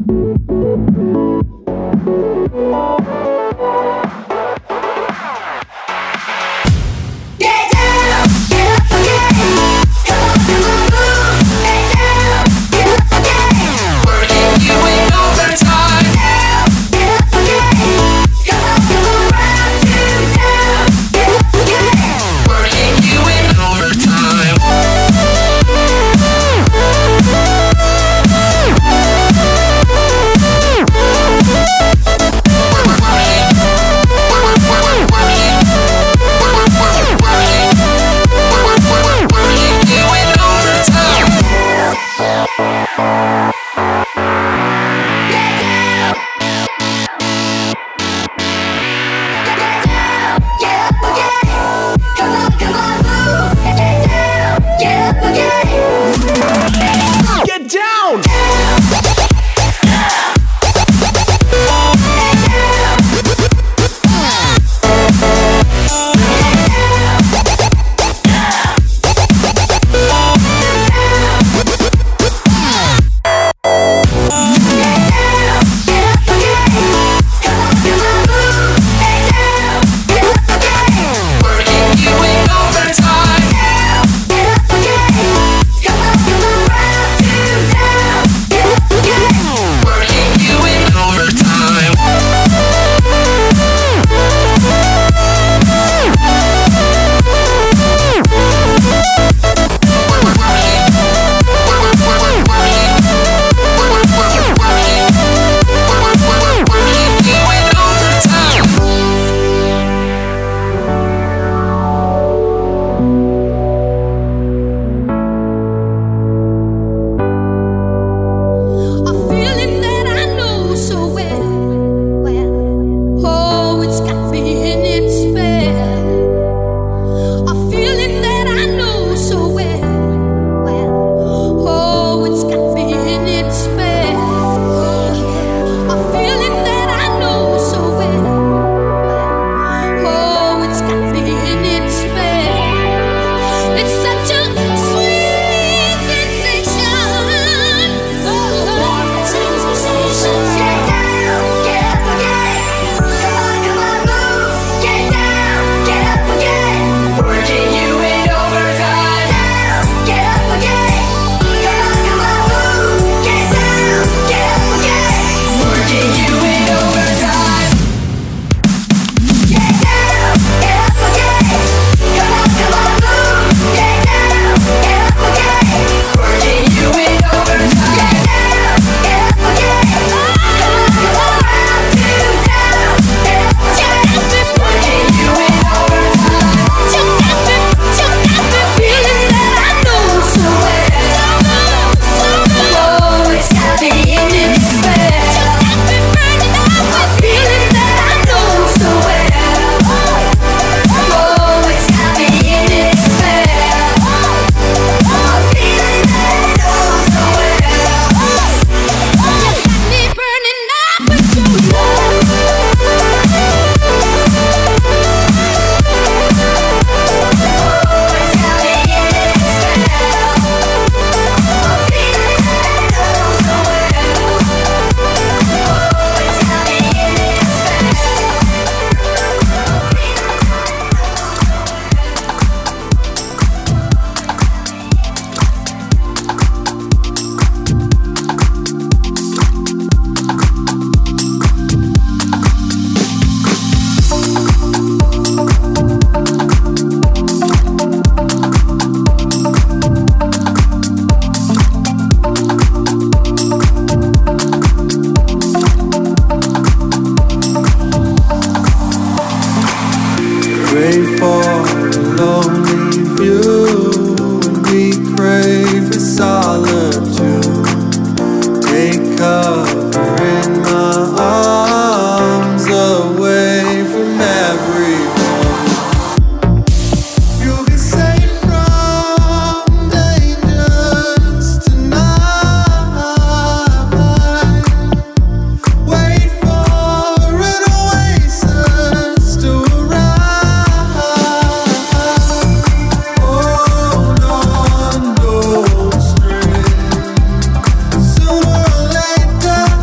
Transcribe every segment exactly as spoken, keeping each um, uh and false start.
Sooner or later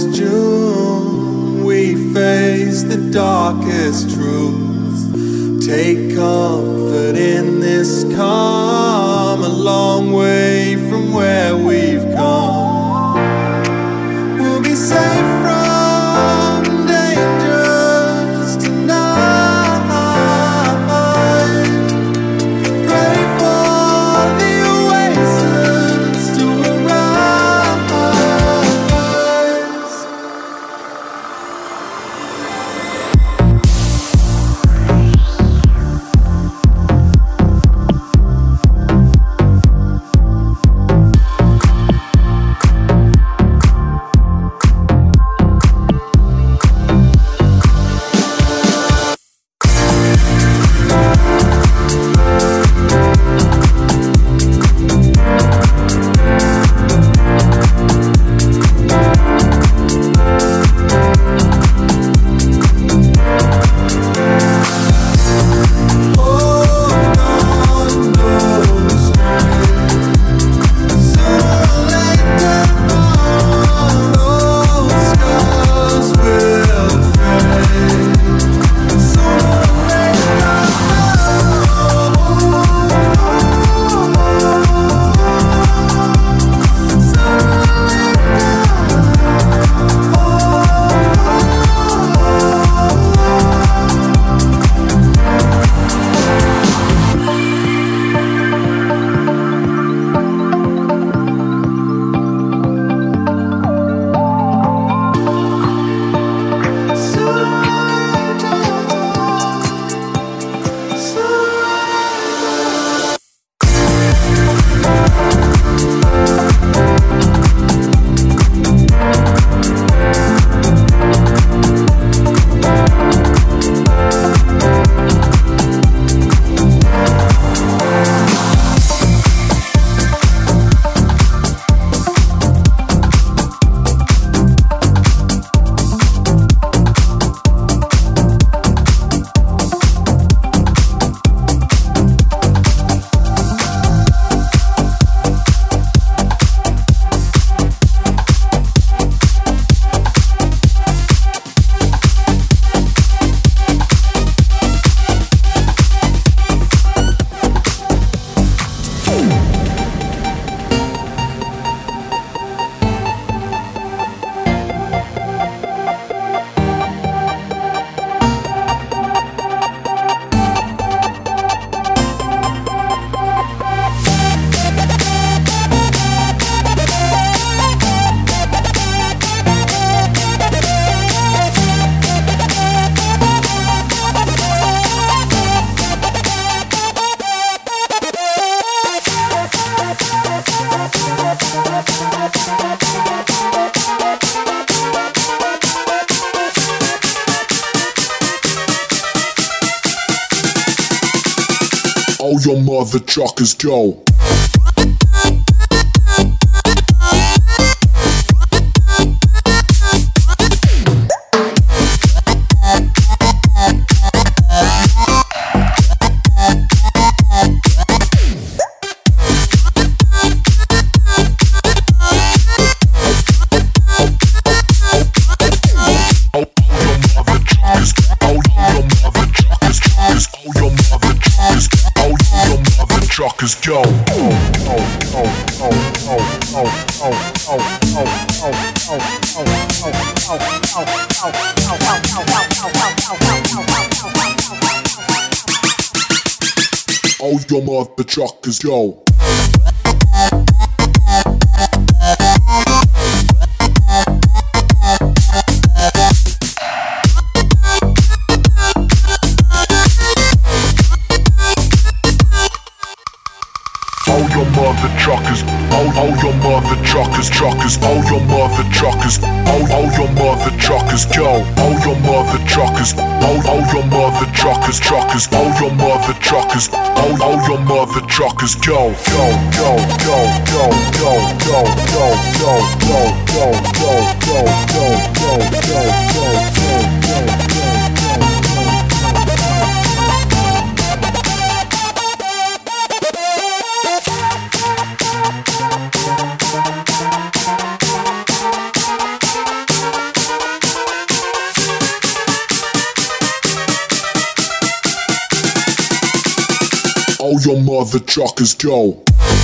this June, we face the darkest truths. Take comfort in this calm, a long way from where we've come. We'll be safe from dangers tonight. Pray for the oasis to arise. All your mother truckers go. Truckers go. All your mother truckers go. All your mother truckers, all, all your mother truckers, truckers, all your mother truckers, all, all your mother truckers go. All your mother truckers, all, all your mother truckers, truckers, all your mother truckers, all, all your mother truckers go. Go, go, go, go, go, go, go, go, go, go, go, go, go, go, go, go, go, go. all your mother truckers go.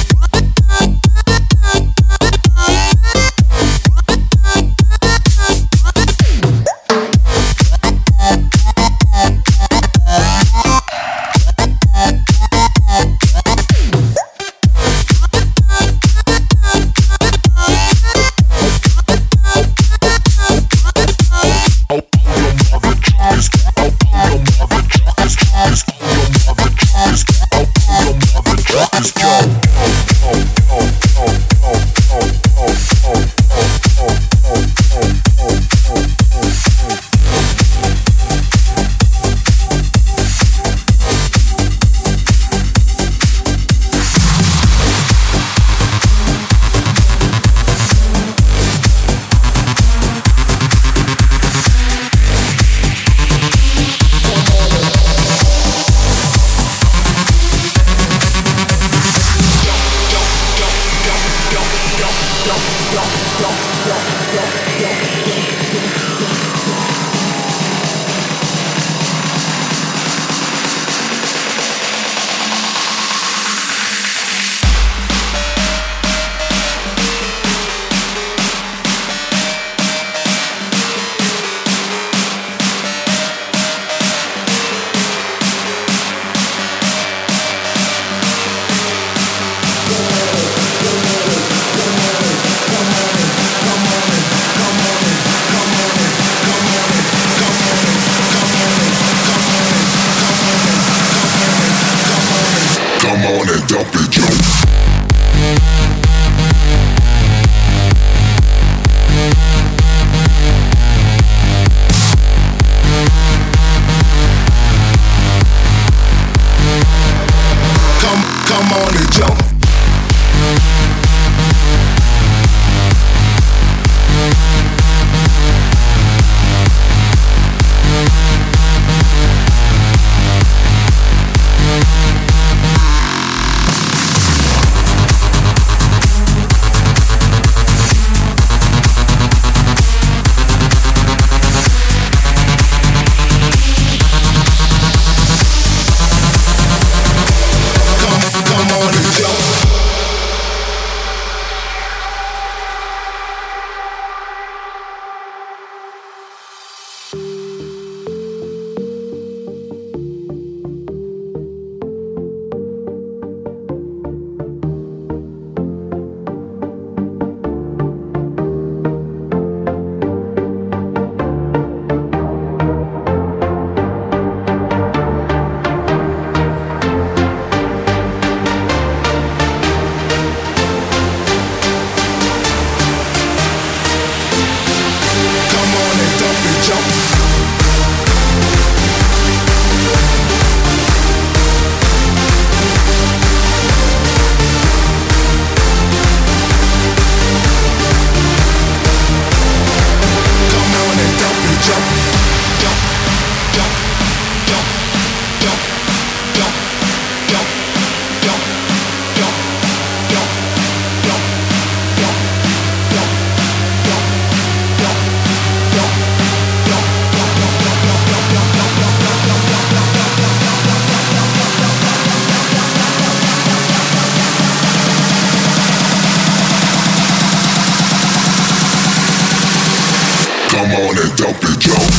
Come on and dump it, Joe.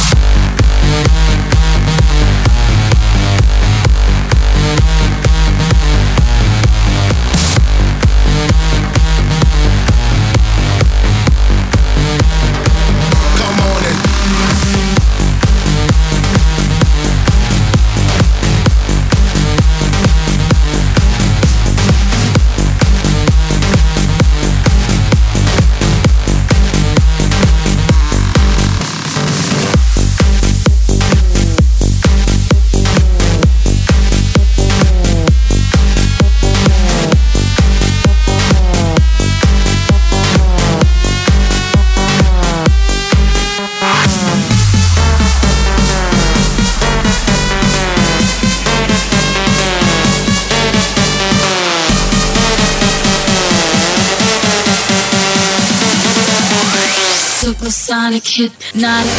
Supersonic hypnotic.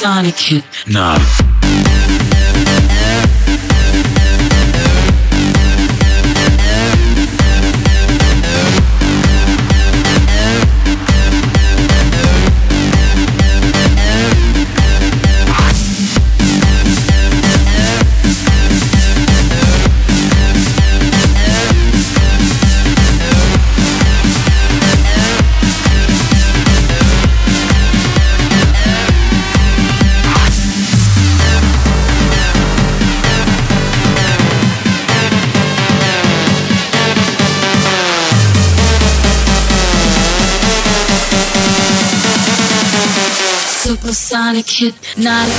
Supersonic hit. No. Supersonic hypnotic.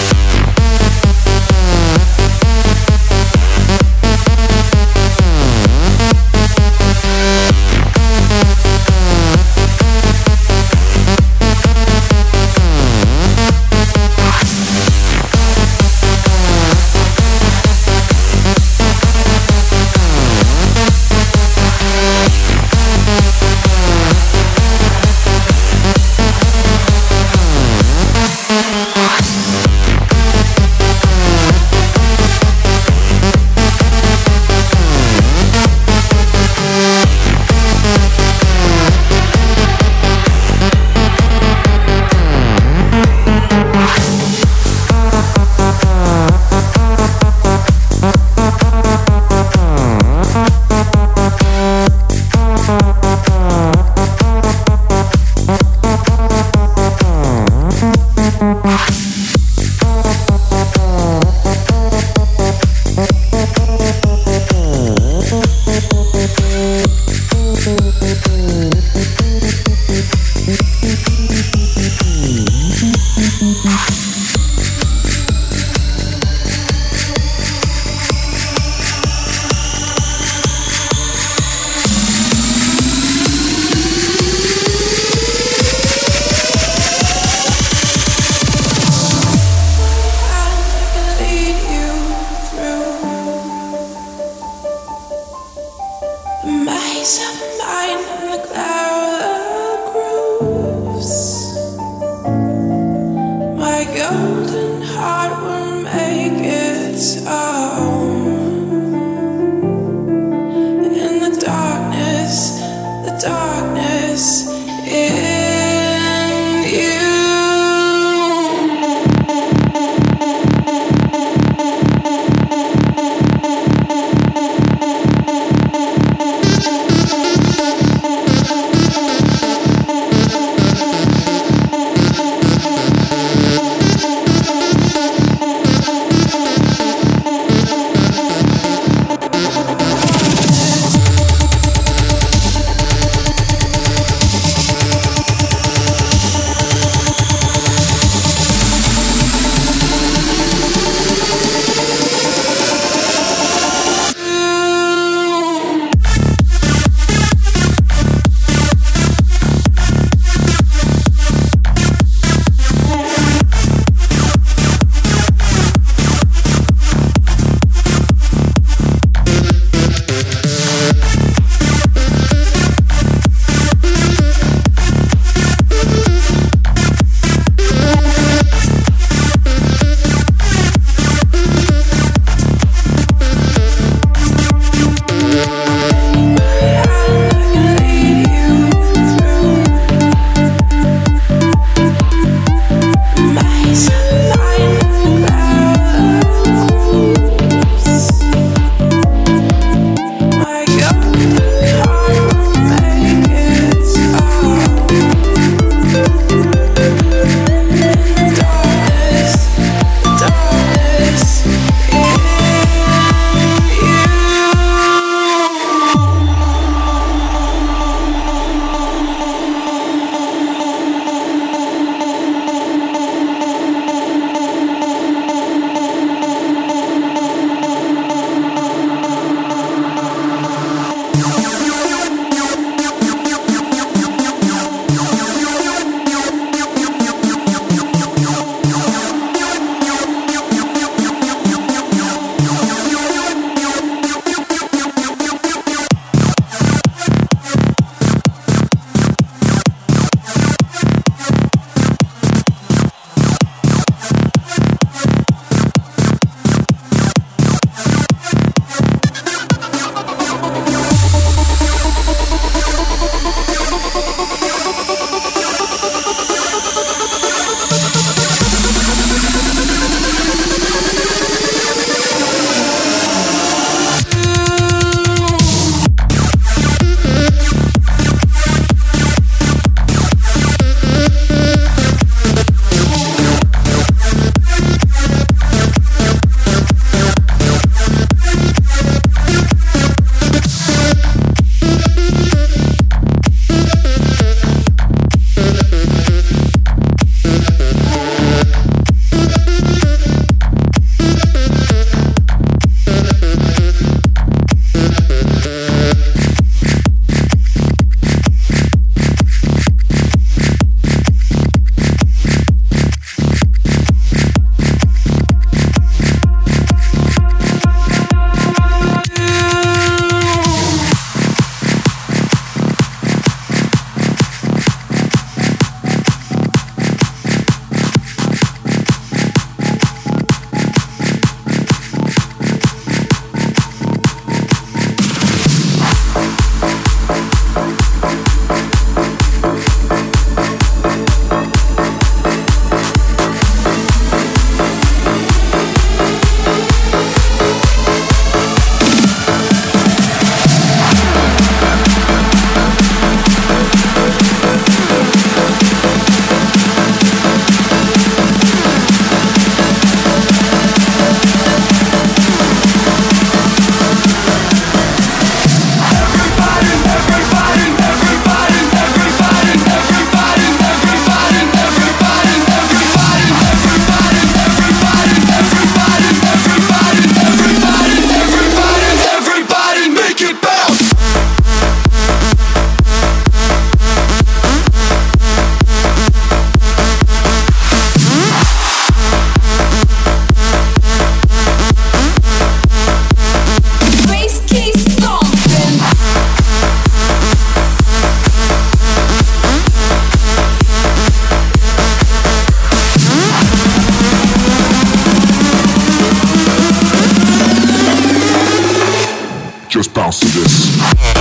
Just bounce to this.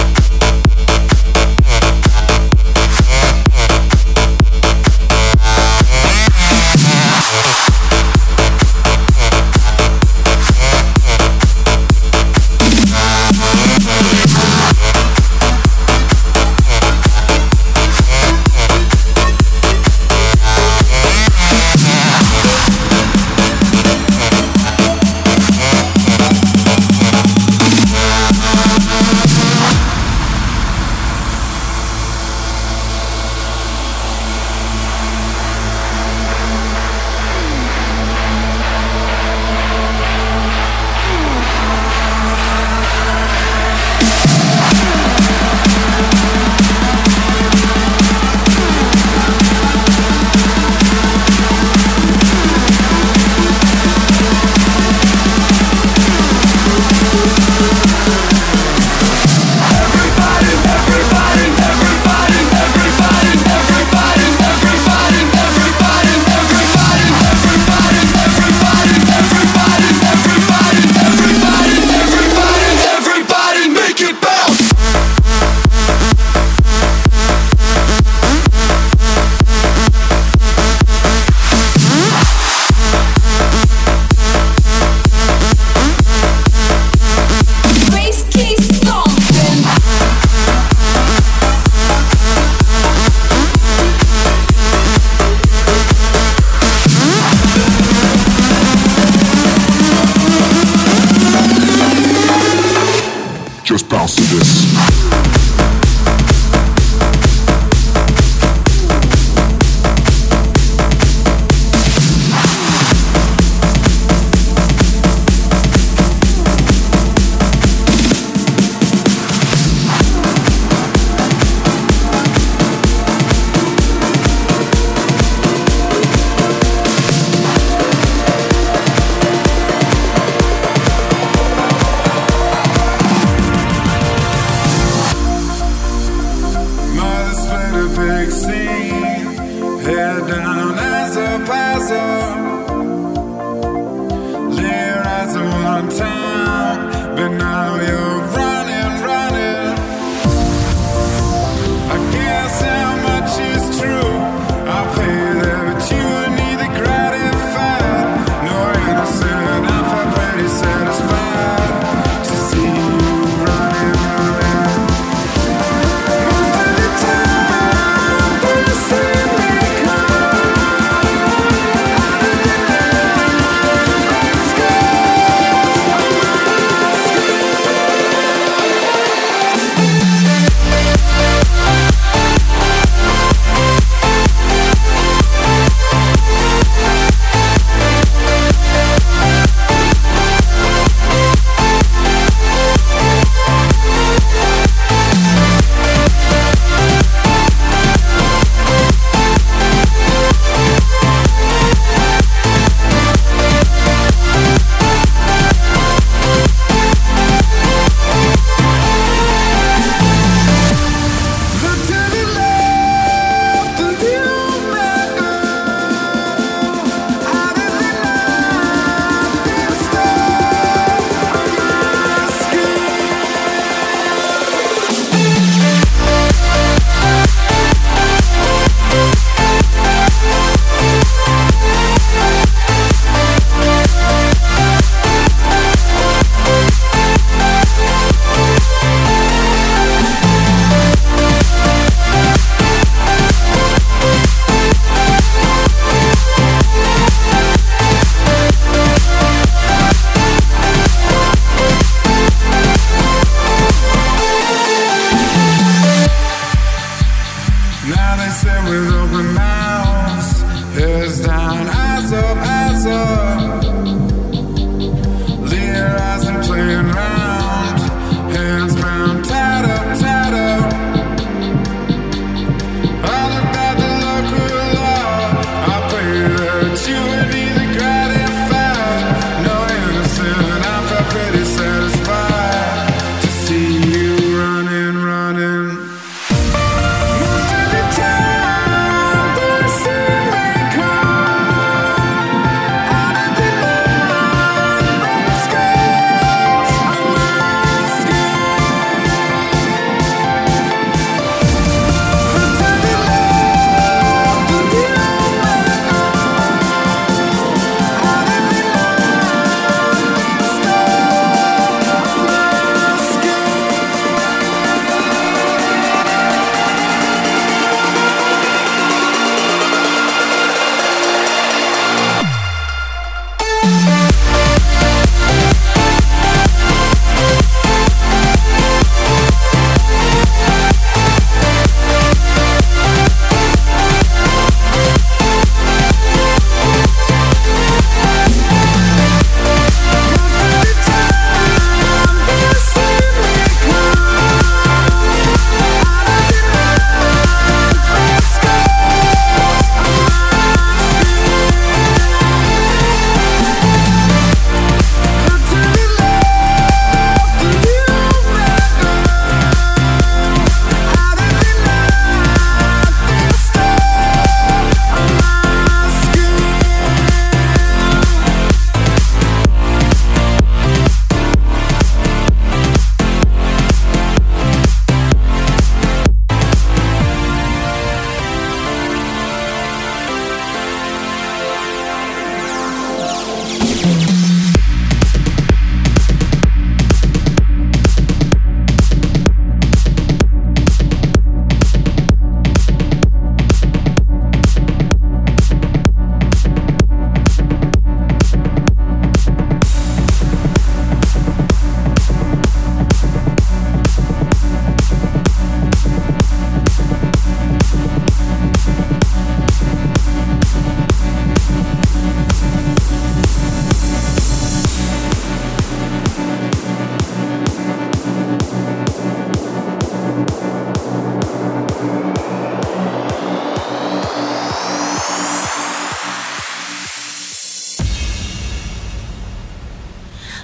Just bounce to this.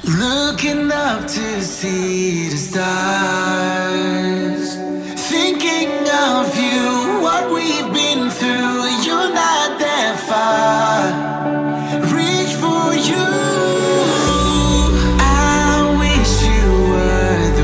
Looking up to see the stars, thinking of you, what we've been through. You're not that far. Reach for you. I wish you were the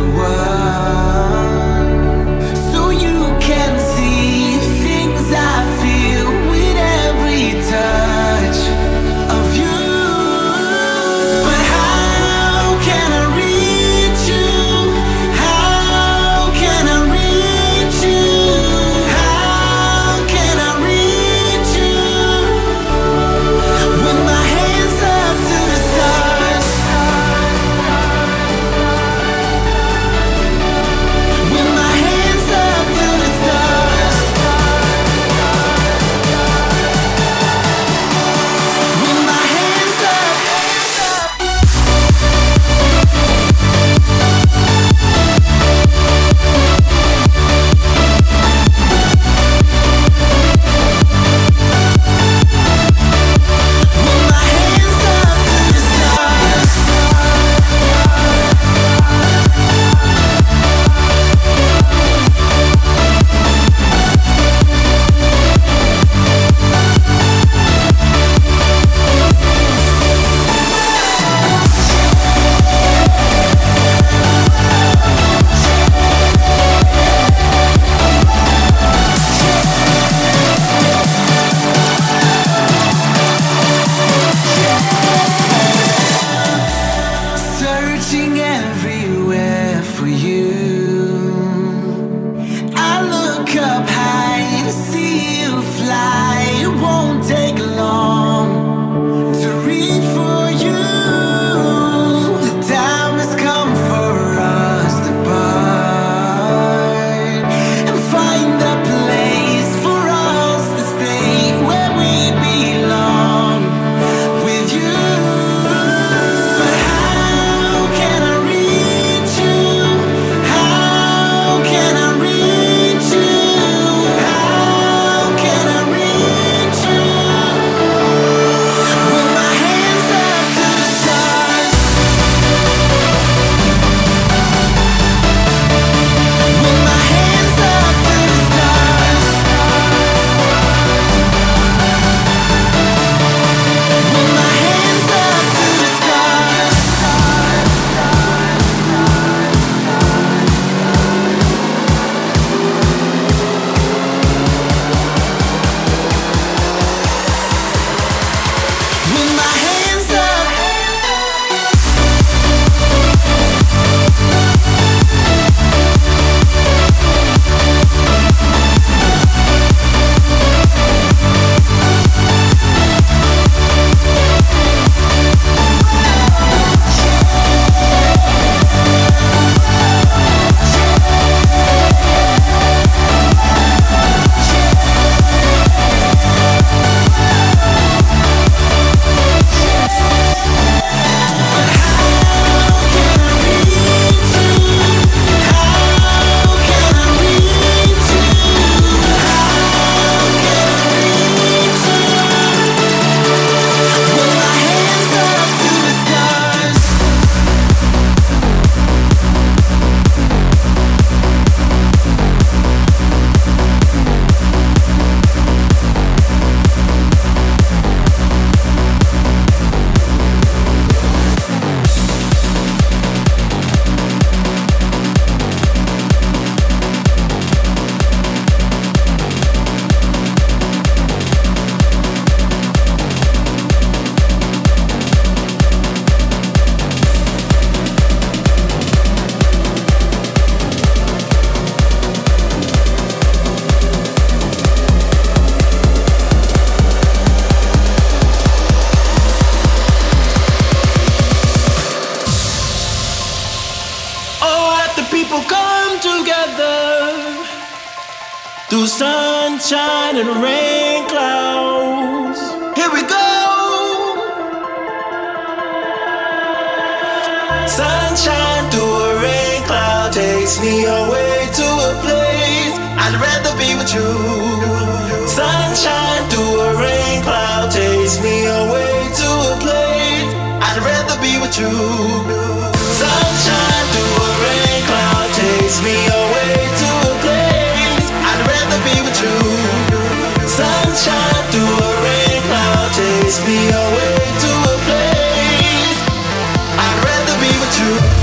one, so you can see the things I feel with every touch of you. But how can I reach you? How can I reach you? How can I reach you? With my hands up to the stars, with my hands up to the stars, with my hands up. With my hands up to the stars. Searching everywhere for you. I look up high to see you fly. It won't take long to reach for you. The time has come for us to part and find a place for us to stay where we belong with you. But how can I reach you? How can I reach you? How can I reach you? With my hands up to the stars, with my hands up to the stars, with my hands up to the stars. With my hands up. Oh, let the people come together through sunshine and rain clouds. Here we go. Sunshine through a rain cloud takes me away to a place I'd rather be with you. Sunshine through a rain cloud takes me away to a place I'd rather be with with you. Sunshine through a rain cloud takes me away to a place I'd rather be with you. Sunshine through a rain cloud takes me away to a place I'd rather be with you.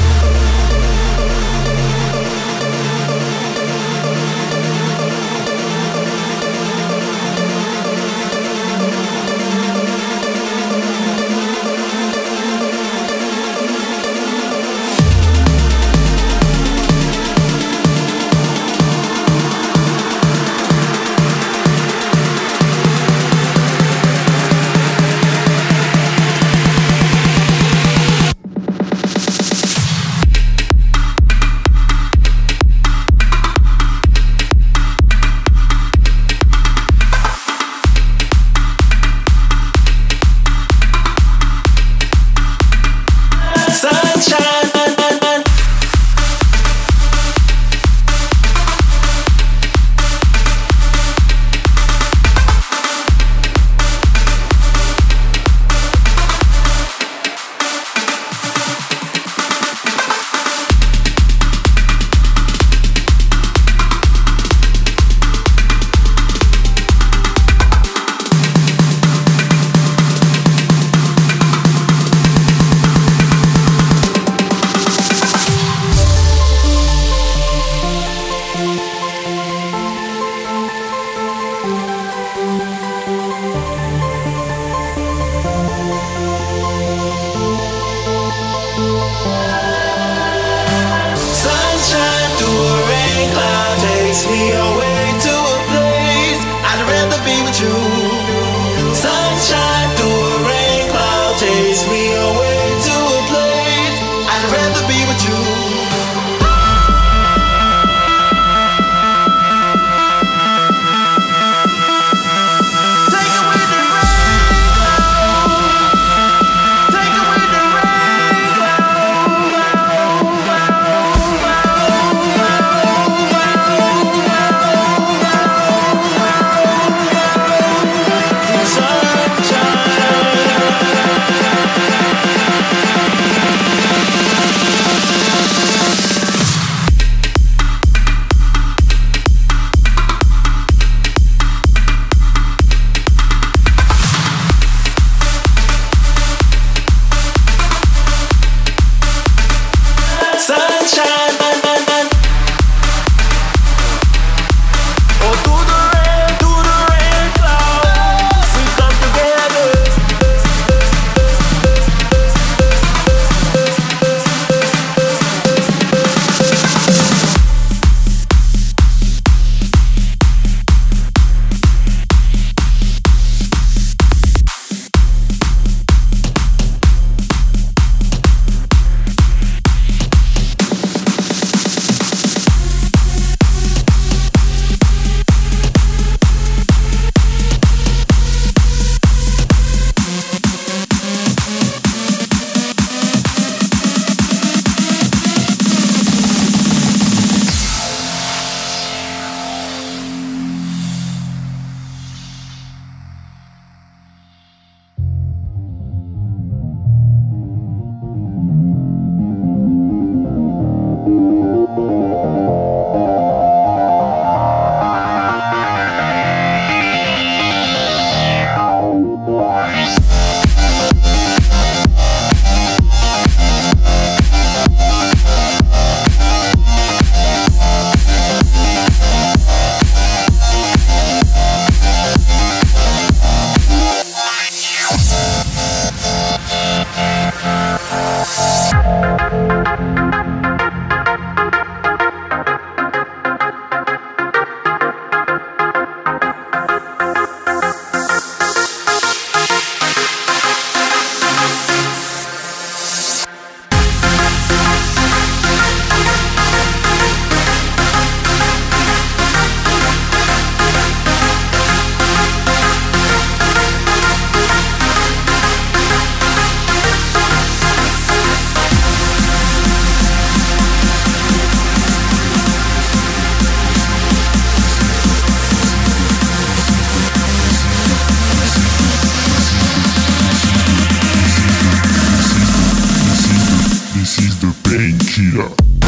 This is the painkiller.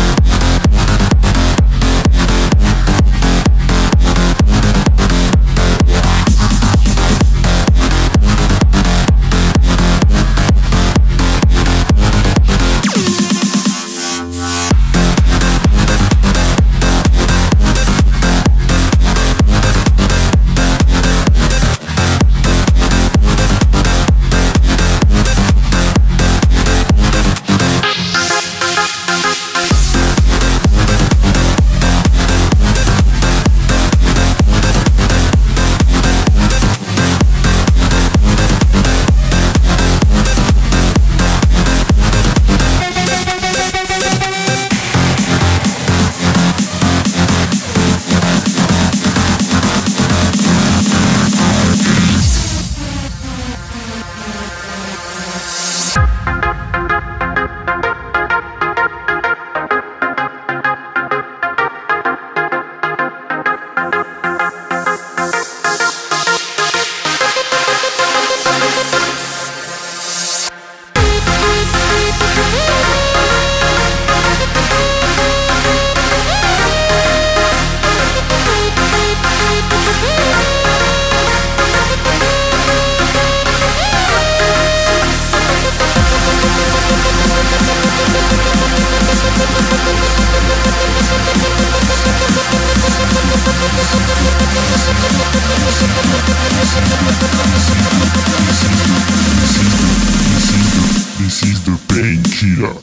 This is the painkiller.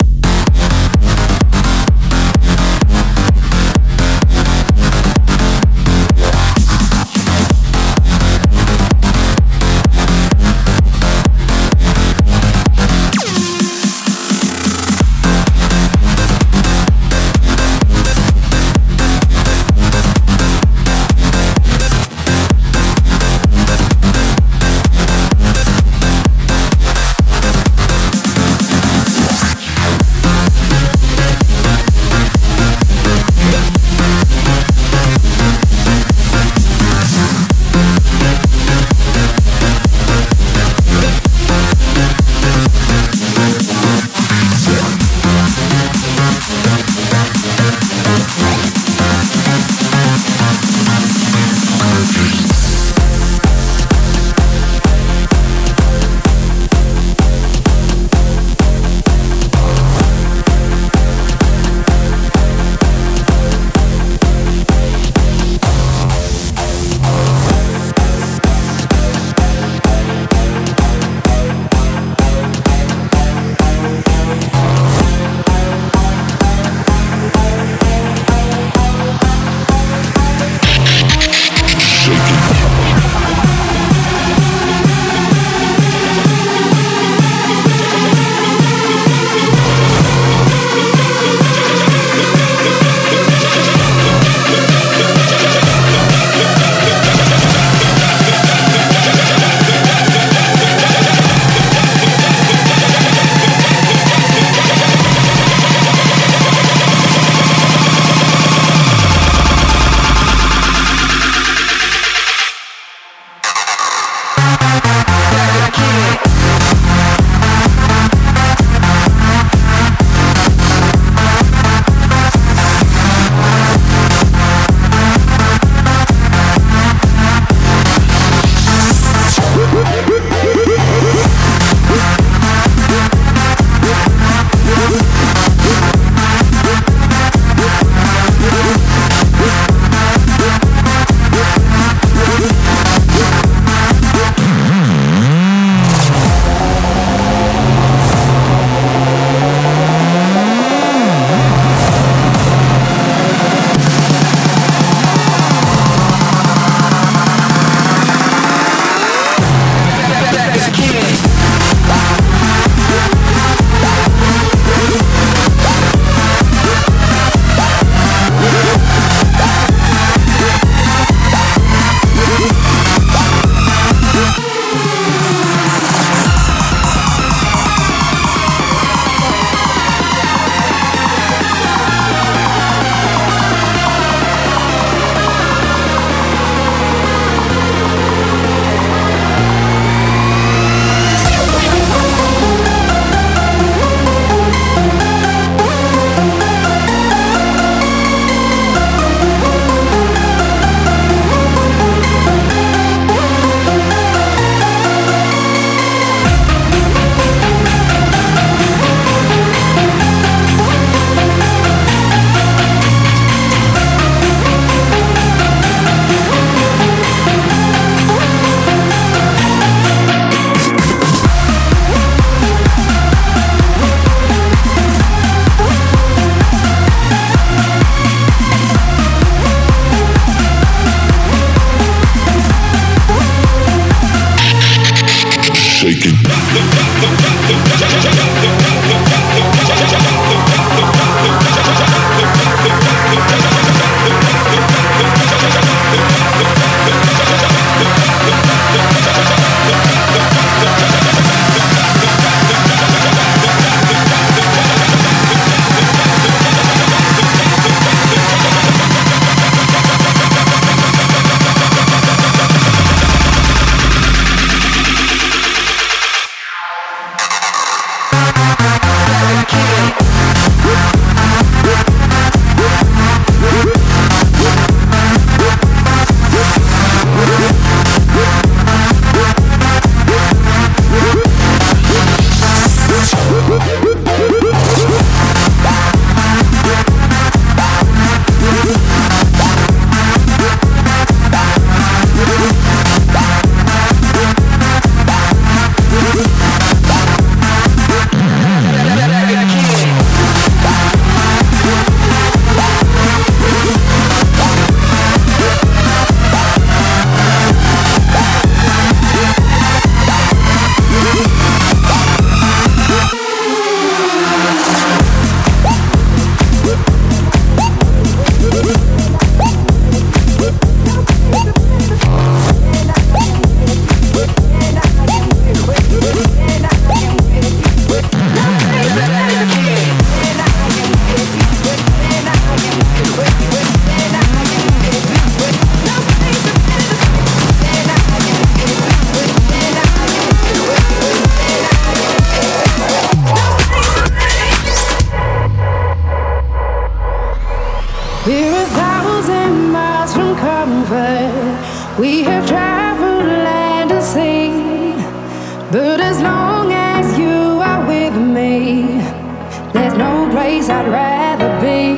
We're a thousand miles from comfort. We have traveled land and sea. But as long as you are with me, there's no place I'd rather be.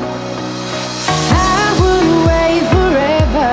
I would wait forever,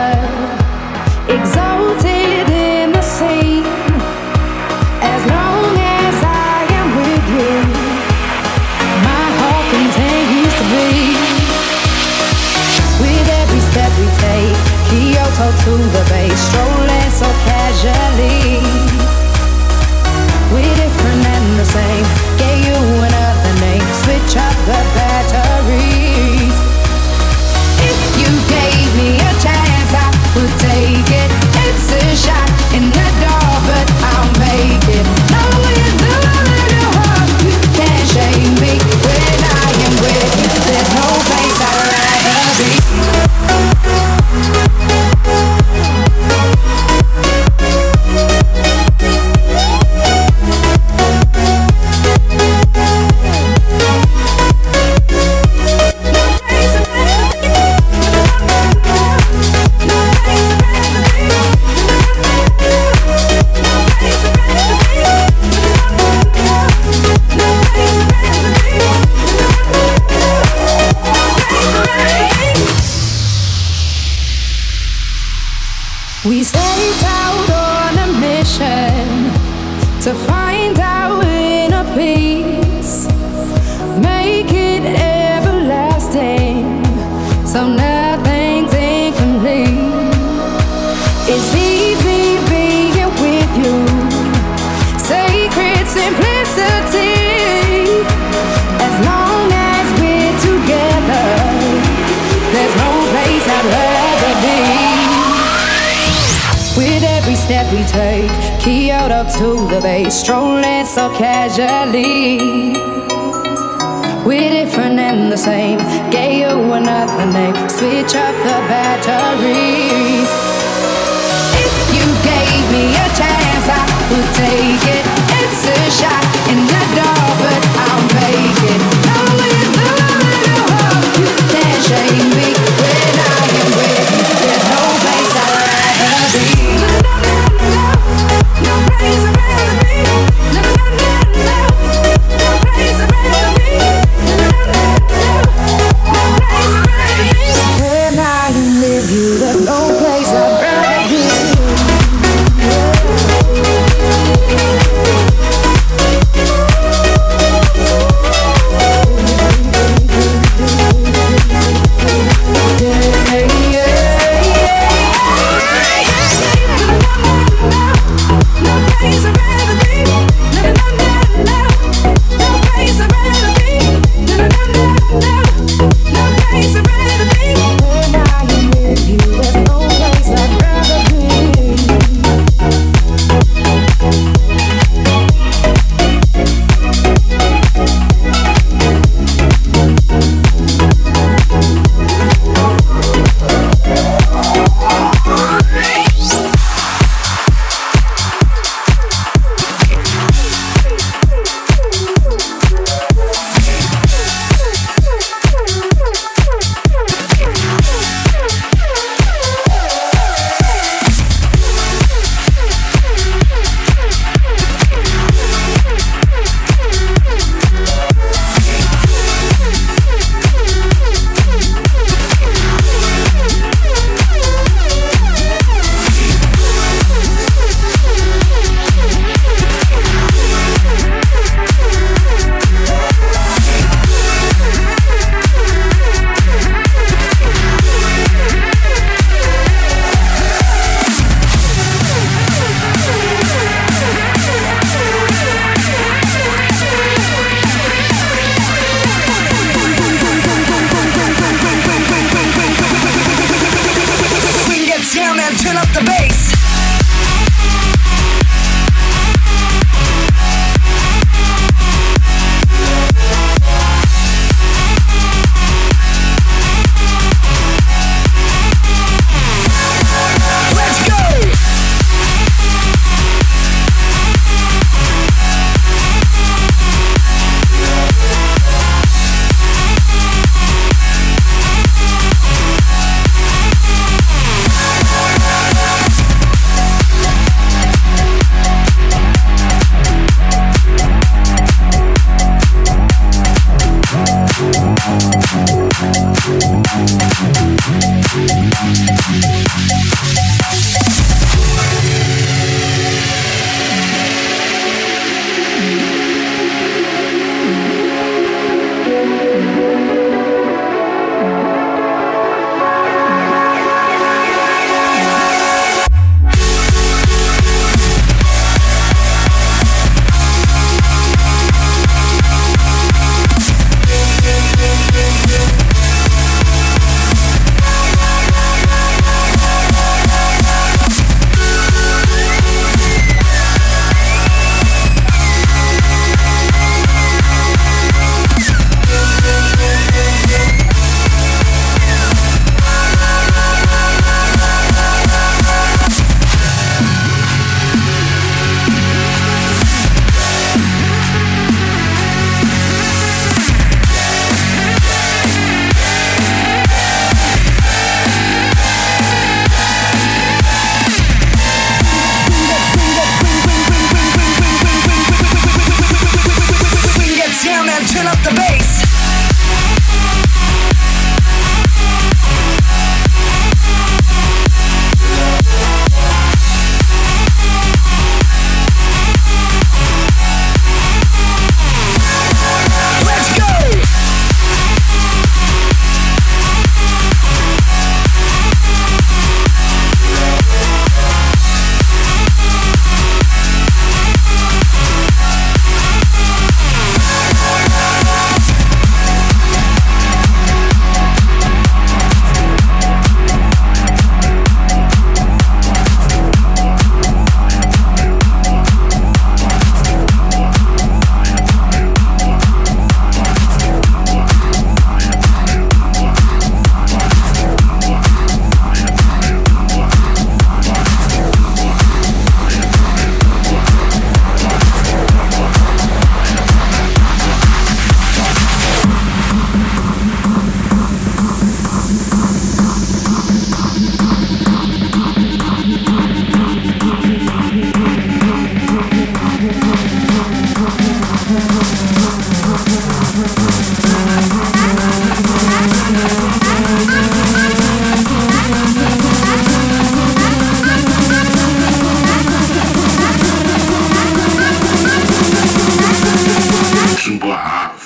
exalted in the sea. As long as I am with you, my heart continues to beat. With every step we take, Kyoto to the bay, strolling so casually. We're different and the same, gave you another name, switch up the batteries. If you gave me a chance, I would take it. It's a shot in the dark, but I'll make it. Knowing the little heart, you can't shame me. When I am with you, there's no place I'd rather be. We set out on a mission to find our inner peace, make it everlasting, so nothing's incomplete. It's easy being with you, sacred simplicity. As long as we're together, there's no place I'd rather be. With every step we take, Kyoto to the bay, strolling so casually. We're different and the same, gave you another name, switch up the batteries. If you gave me a chance, I would take it. It's a shot in the dark, but I'll make it. Knowing the little heart, you can't shame me. When I am with you, there's no place I'd rather be. No place I'd rather be. No, no, no, no. No place I'd rather be. No, no, no, no. No place I'd rather be. When I am with you, there's no place I'd rather be.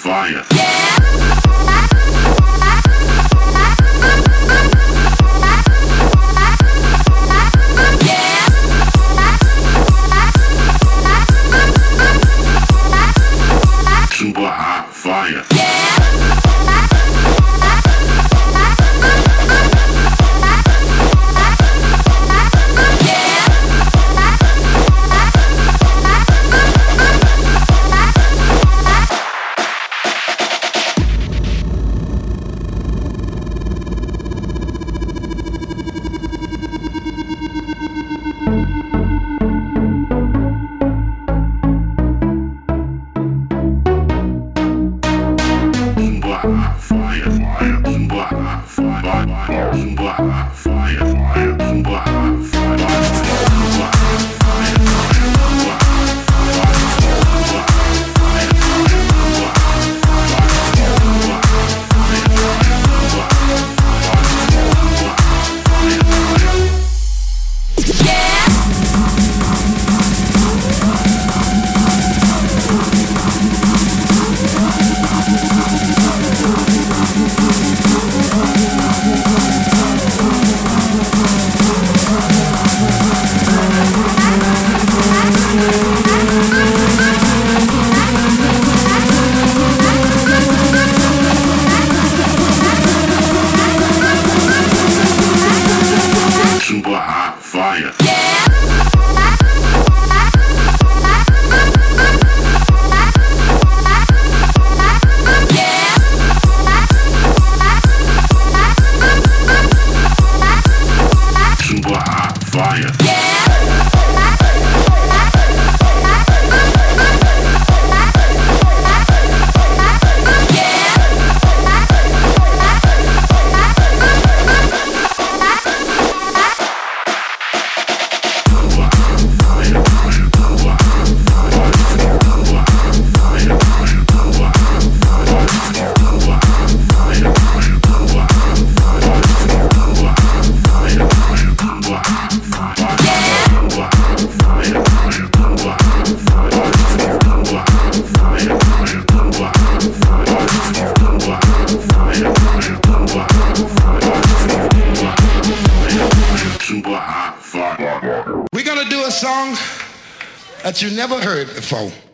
fire. Super hot fire. Super hot fire. Super hot fire. We're gonna do a song that you never heard before.